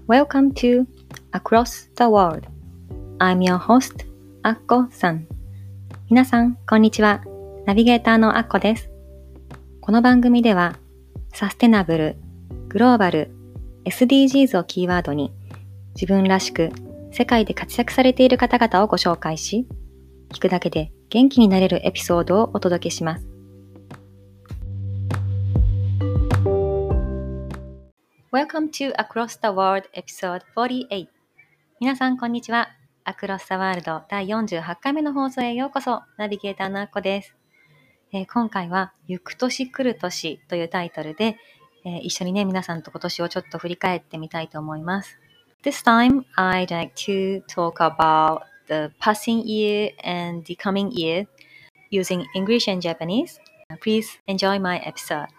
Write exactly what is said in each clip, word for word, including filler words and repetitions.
Welcome to Across the World. I'm your host, アッコさん。皆さん、こんにちは。ナビゲーターのアッコです。この番組では、サステナブル、グローバル、エスディージーズ をキーワードに、自分らしく世界で活躍されている方々をご紹介し、聞くだけで元気になれるエピソードをお届けします。Welcome to Across the World Episode フォーティーエイト。皆さんこんにちは。Across the World だいよんじゅうはちかいめの放送へようこそ。ナビゲーターのあっこです。えー、今回はゆく年来る年というタイトルで、えー、一緒にね皆さんと今年をちょっと振り返ってみたいと思います。This time I'd like to talk about the passing year and the coming year using English and Japanese. Please enjoy my episode.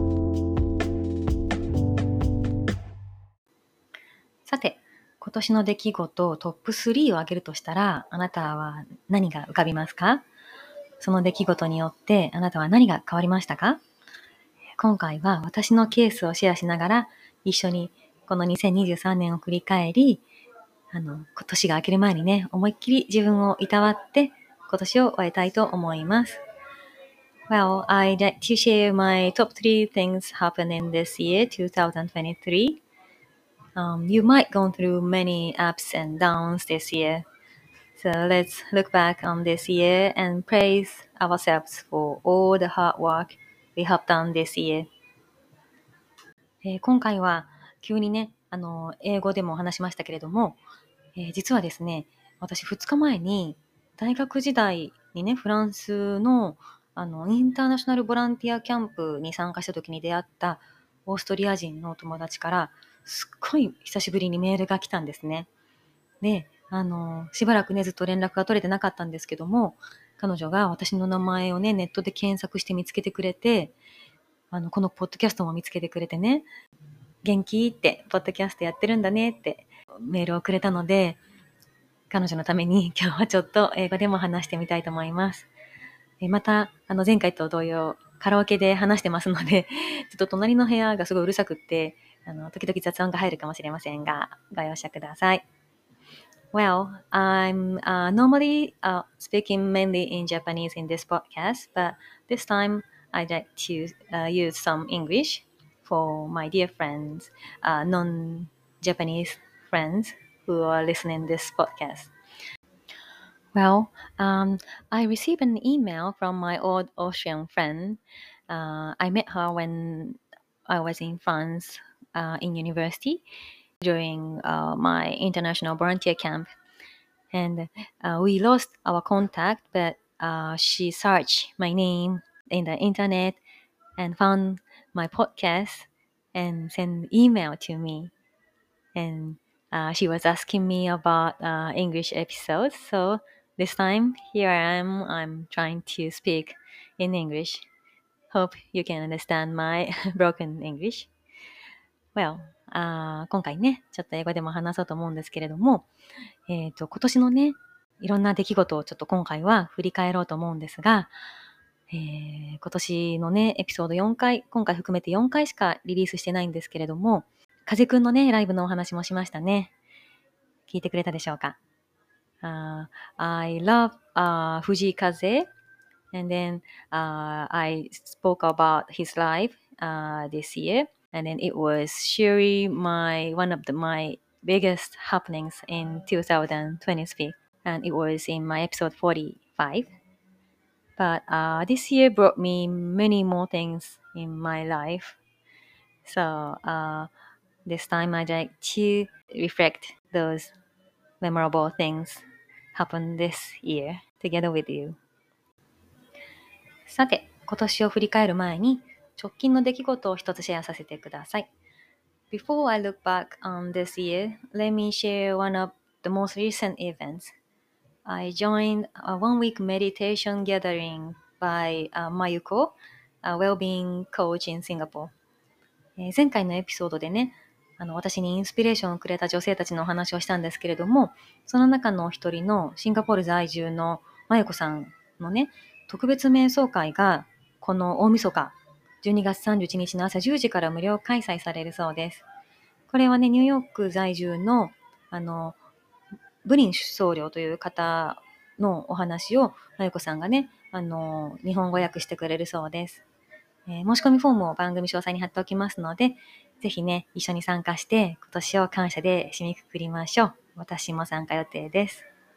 さて、今年の出来事トップスリーを挙げるとしたら、あなたは何が浮かびますか？その出来事によってあなたは何が変わりましたか？今回は私のケースをシェアしながら、一緒にこのにせんにじゅうさんねんを振り返り、あの、年が明ける前にね、思いっきり自分をいたわって、今年を終えたいと思います。Well, I'd like to share my top three things happened in this year, twenty twenty-three.Um, you might go through many ups and downs this year. So let's look back on this year and praise ourselves for all the hard work we have done this year. えー、今回は急にね、あの、英語でも話しましたけれども、えー、実はですね、私ふつかまえに大学時代にね、フランスのあのインターナショナルボランティアキャンプに参加した時に出会ったオーストリア人の友達からすっごい久しぶりにメールが来たんですね。で、あの、しばらくね、ずっと連絡が取れてなかったんですけども、彼女が私の名前をね、ネットで検索して見つけてくれて、あの、このポッドキャストも見つけてくれてね、元気って、ポッドキャストやってるんだねってメールをくれたので、彼女のために今日はちょっと英語でも話してみたいと思います。また、あの前回と同様、カラオケで話してますので、ちょっと隣の部屋がすごいうるさくって、あの時々雑音が入るかもしれませんが、ご容赦ください。Well, I'm uh, normally uh, speaking mainly in Japanese in this podcast, but this time I'd like to uh, use some English for my dear friends, uh, non-Japanese friends who are listening to this podcast. Well, um, I received an email from my old Austrian friend. Uh, I met her when I was in France uh, in university during uh, my international volunteer camp. And uh, we lost our contact, but uh, she searched my name in the internet and found my podcast and sent email to me. And uh, she was asking me about uh, English episodes. So this time, here I am. I'm trying to speak in English. Hope you can understand my broken English. Well, あ今回ね、ちょっと英語でも話そうと思うんですけれども、えっと、今年のね、いろんな出来事をちょっと今回は振り返ろうと思うんですが、えー、今年のね、エピソードよんかい、今回含めてよんかいしかリリースしてないんですけれども、風くんのね、ライブのお話もしましたね。聞いてくれたでしょうか？ uh, I love uh, Fuji Kaze, and then uh, I spoke about his life uh, this year, and then it was surely my one of the, my biggest happenings in twenty twenty-three, and it was in my episode forty-five. But uh, this year brought me many more things in my life. So uh, this time I'd like to reflect those memorable things happened this year together with you. さて、今年を振り返る前に直近の出来事を一つシェアさせてください。Before I look back on this year, let me share one of the most recent events. I joined a one-week meditation gathering by uh, Mayuko, a well-being coach in Singapore. えー、前回のエピソードでね、あの私にインスピレーションをくれた女性たちのお話をしたんですけれども、その中の一人のシンガポール在住のMayukoさんのね、特別瞑想会がこの大晦日じゅうにがつさんじゅういちにちの朝じゅうじから無料開催されるそうです。 これはね、ニューヨーク在住の、あの、ブリン僧侶という方のお話を、まゆこさんがね、あの、日本語訳してくれるそうです。えー申し込みフォームを番組詳細に貼っておきますので、ぜひね、一緒に参加して、今年を感謝で締めくくりましょう。私も参加予定です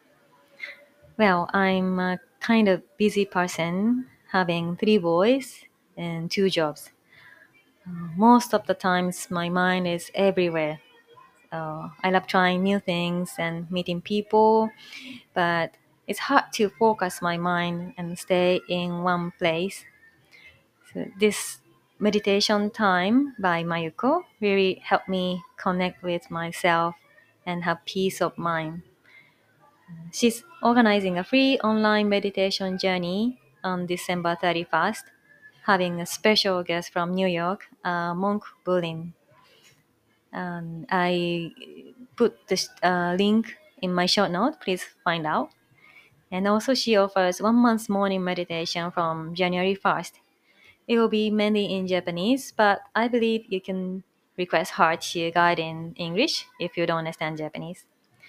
。Well, I'm a kind of busy person, having three boys and two jobs. Uh, Most of the times, my mind is everywhere. Uh, I love trying new things and meeting people, but it's hard to focus my mind and stay in one place. So this meditation time by Mayuko really helped me connect with myself and have peace of mind. She's organizing a free online meditation journey on December thirty-first, having a special guest from New York, uh, Monk Bulin. Um, I put the uh, link in my show note. Please find out. And also, she offers one month morning meditation from January first. It will be mainly in Japanese, but I believe you can request Hachi guide in English if you don't understand Japanese.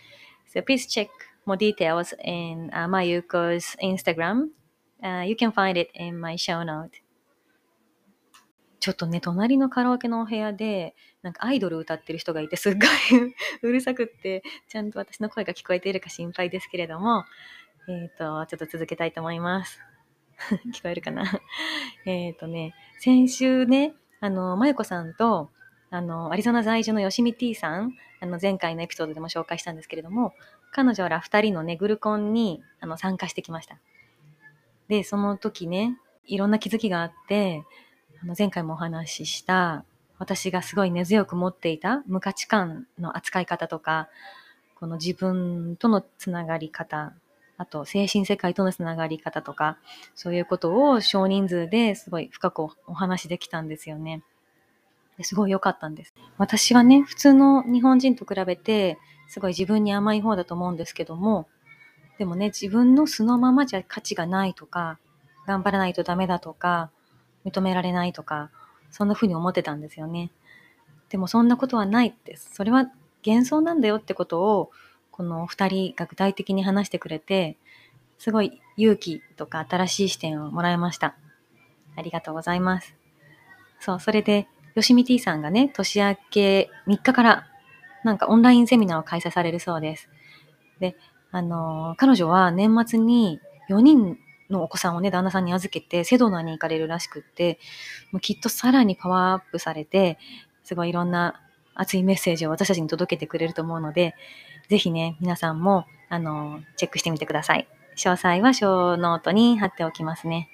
So please check more details in uh, Mayuko's Instagram. Uh, you can find it in my show note. ちょっとね、隣のカラオケのお部屋で、なんかアイドル歌ってる人がいて、すっごいうるさくって、ちゃんと私の声が聞こえているか心配ですけれども、えっ、と、ちょっと続けたいと思います。聞こえるかなえっとね、先週ね、あの、まゆこさんと、あの、アリゾナ在住のよしみ T さん、あの、前回のエピソードでも紹介したんですけれども、彼女ら二人のね、グルコンにあの参加してきました。で、その時ね、いろんな気づきがあって、あの前回もお話しした、私がすごい根強く持っていた無価値観の扱い方とか、この自分とのつながり方、あと精神世界とのつながり方とか、そういうことを少人数ですごい深くお話できたんですよね。ですごい良かったんです。私はね、普通の日本人と比べて、すごい自分に甘い方だと思うんですけども、でもね、自分の素のままじゃ価値がないとか、頑張らないとダメだとか、認められないとか、そんな風に思ってたんですよね。でもそんなことはないって、それは幻想なんだよってことを、この二人が具体的に話してくれて、すごい勇気とか新しい視点をもらいました。ありがとうございます。そう、それで、よしみ T さんがね、年明けみっかから、なんかオンラインセミナーを開催されるそうです。で、あのー、彼女は年末によにんのお子さんをね、旦那さんに預けて、セドナに行かれるらしくって、もうきっとさらにパワーアップされて、すごいいろんな熱いメッセージを私たちに届けてくれると思うので、ぜひね、皆さんも、あのー、チェックしてみてください。詳細はショーノートに貼っておきますね。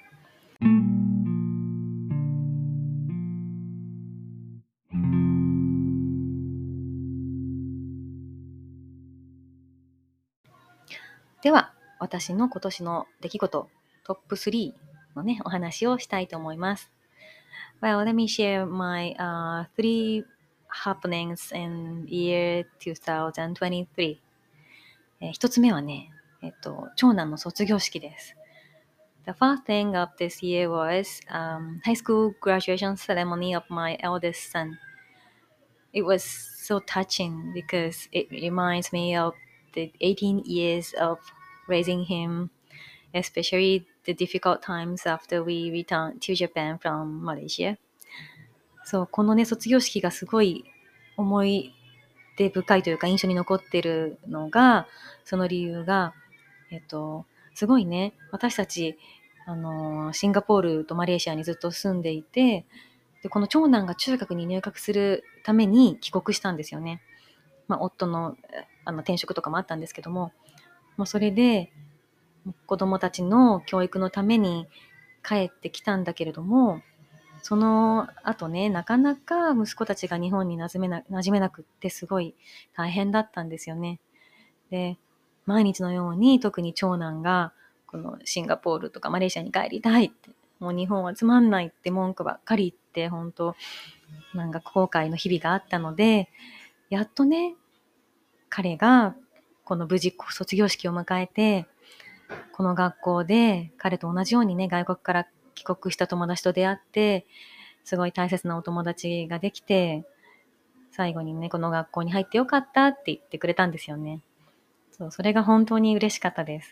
では、私の今年の出来事、トップスリーのね、お話をしたいと思います。Well, let me share my、uh, three happenings in year twenty twenty-three. えー、一つ目はね、えっと、長男の卒業式です。The first thing of this year was um, high school graduation ceremony of my eldest son. It was so touching because it reminds me of the eighteen years of raising him, especially the difficult times after we returned to Japan from Malaysia. そう、このね、卒業式がすごい思い出深いというか印象に残ってるのが、その理由が、えっと、すごいね、私たち、あの、シンガポールとマレーシアにずっと住んでいて、で、この長男が中学に入学するために帰国したんですよね。まあ、夫の、あの、転職とかもあったんですけども、もうそれで、子供たちの教育のために帰ってきたんだけれども、その後ね、なかなか息子たちが日本に馴染めな、馴染めなくってすごい大変だったんですよね。で、毎日のように特に長男がこのシンガポールとかマレーシアに帰りたいって、もう日本はつまんないって文句ばっかり言って、本当なんか後悔の日々があったので、やっとね、彼がこの無事卒業式を迎えて、この学校で彼と同じようにね、外国から帰国した友達と出会って、すごい大切なお友達ができて、 最後にね、この学校に入ってよかったって言ってくれたんですよね。そう、それが本当に嬉しかったです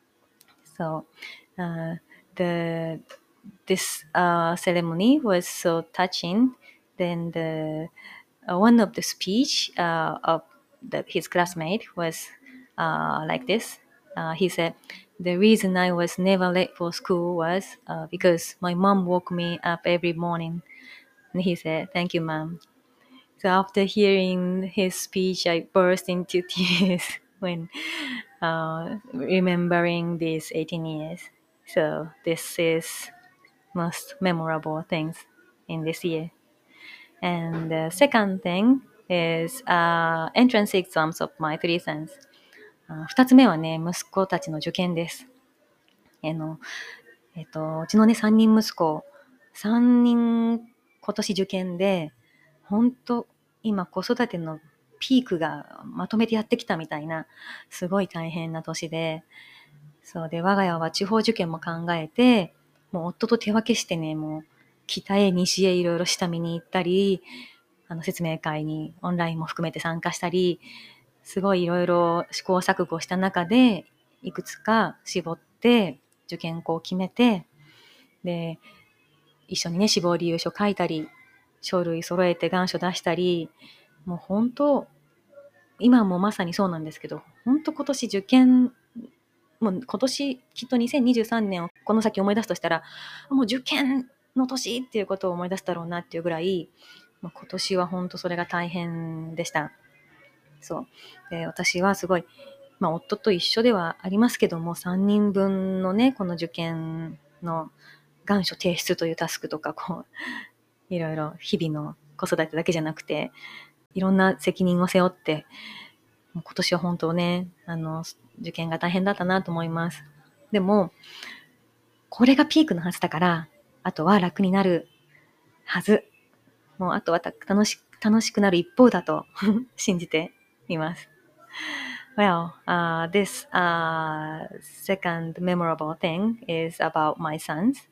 。So, uh, the this uh, ceremony was so touching. Then the uh, one of the speech uh, of the, his classmate was uh, like this. Uh, he said, "The reason I was never late for school was uh, because my mom woke me up every morning." And he said, "Thank you, mom." So after hearing his speech, I burst into tears when uh, remembering these eighteen years. So this is most memorable things in this year. And the second thing is uh, entrance exams of my three sons. あ二つ目はね、息子たちの受験です。あの、えっと、うちのね、三人息子、三人今年受験で、本当今子育てのピークがまとめてやってきたみたいな、すごい大変な年で、そうで、我が家は地方受験も考えて、もう夫と手分けしてね、もう北へ西へいろいろ下見に行ったり、あの説明会にオンラインも含めて参加したり、すごいいろいろ試行錯誤した中で、いくつか絞って受験校を決めて、で、一緒にね、志望理由書書いたり、書類揃えて願書出したり、もう本当、今もまさにそうなんですけど、本当今年受験、もう今年きっとにせんにじゅうさんねんをこの先思い出すとしたら、もう受験の年っていうことを思い出すだろうなっていうぐらい、もう今年は本当それが大変でした。そう。で、私はすごい、まあ夫と一緒ではありますけども、さんにんぶんのね、この受験の願書提出というタスクとか、こう、いろいろ日々の子育てだけじゃなくて、いろんな責任を背負って、もう今年は本当ね、あの、受験が大変だったなと思います。でも、これがピークのはずだから、あとは楽になるはず。もうあとは楽し、楽しくなる一方だと信じています。Well, uh, this uh, second memorable thing is about my sons.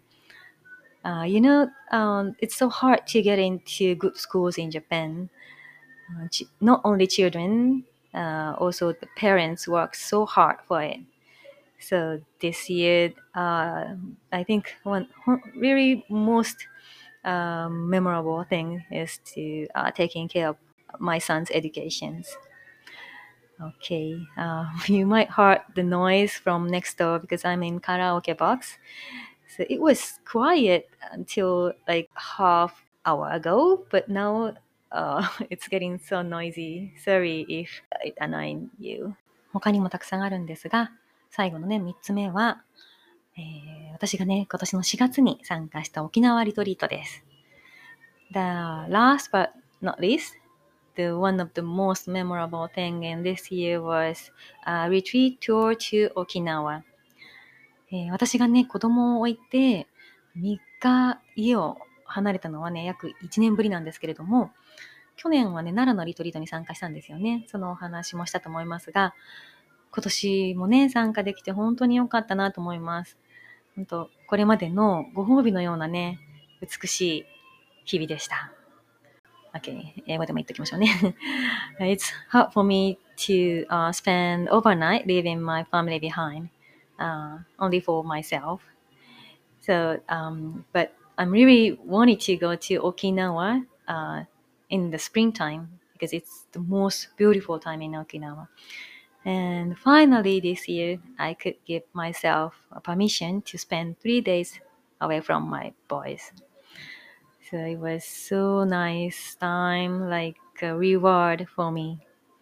Uh, you know, um, it's so hard to get into good schools in Japan. Uh, ch- not only children, uh, also the parents work so hard for it. So this year, uh, I think one really most um, memorable thing is to uh, taking care of my son's educations. Okay, uh, you might hear the noise from next door because I'm in karaoke box. So it was quiet until like half hour ago, but now uh, it's getting so noisy. Sorry if it annoyed you. 他にもたくさんあるんですが、最後のね、みっつめは、えー、私がね、今年のしがつに参加した沖縄リトリートです。The last but not least, the one of the most memorable thing in this year was a retreat tour to Okinawa. えー、私がね、子供を置いてみっか家を離れたのはね、約いちねんぶりなんですけれども、去年はね、奈良のリトリートに参加したんですよね。そのお話もしたと思いますが、今年もね、参加できて本当に良かったなと思います。本当、これまでのご褒美のようなね、美しい日々でした。Okay, 英語でも言っときましょうね。It's hard for me to、uh, spend overnight leaving my family behind, uh, only for myself. So, um, but I'm really wanting to go to Okinawa uh, in the springtime because it's the most beautiful time in Okinawa. And finally this year, I could give myself a permission to spend three days away from my boys. So it was so nice time, like a reward for me.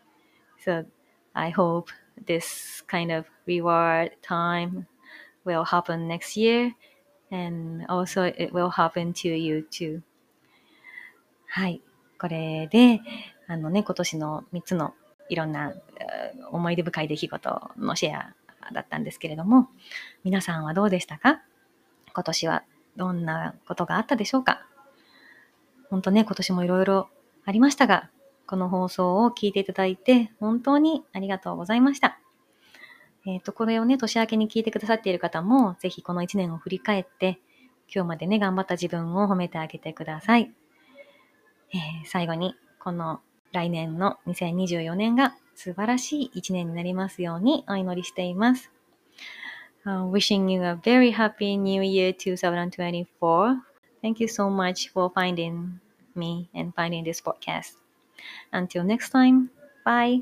So I hope this kind of reward time will happen next year, and also it will happen to you too. はい。これで、あのね、今年のみっつのいろんな思い出深い出来事のシェアだったんですけれども、皆さんはどうでしたか？今年はどんなことがあったでしょうか？本当ね、今年もいろいろありましたが、この放送を聞いていただいて本当にありがとうございました。えっと、これをね、年明けに聞いてくださっている方も、ぜひこのいちねんを振り返って、今日までね、頑張った自分を褒めてあげてください。えー、最後に、この来年のにせんにじゅうよねんが素晴らしい一年になりますようにお祈りしています。Uh, wishing you a very happy New Year twenty twenty-four. Thank you so much for finding me and finding this podcast. Until next time, bye.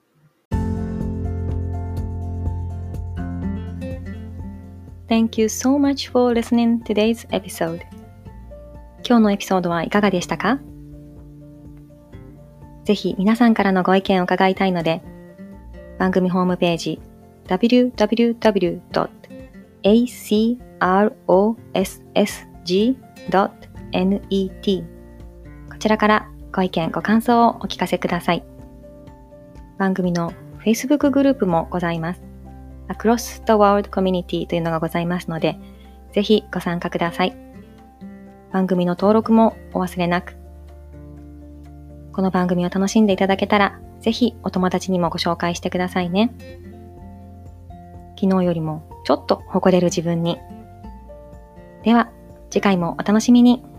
Thank you so much for listening to today's episode. 今日のエピソードはいかがでしたか？ぜひ皆さんからのご意見を伺いたいので、番組ホームページ ダブリューダブリューダブリュードットエーシーアールオーエスエスジードットネット こちらからご意見ご感想をお聞かせください。番組の Facebook グループもございます。Across the World Community というのがございますので、ぜひご参加ください。番組の登録もお忘れなく。この番組を楽しんでいただけたら、ぜひお友達にもご紹介してくださいね。昨日よりもちょっと誇れる自分に。では、次回もお楽しみに。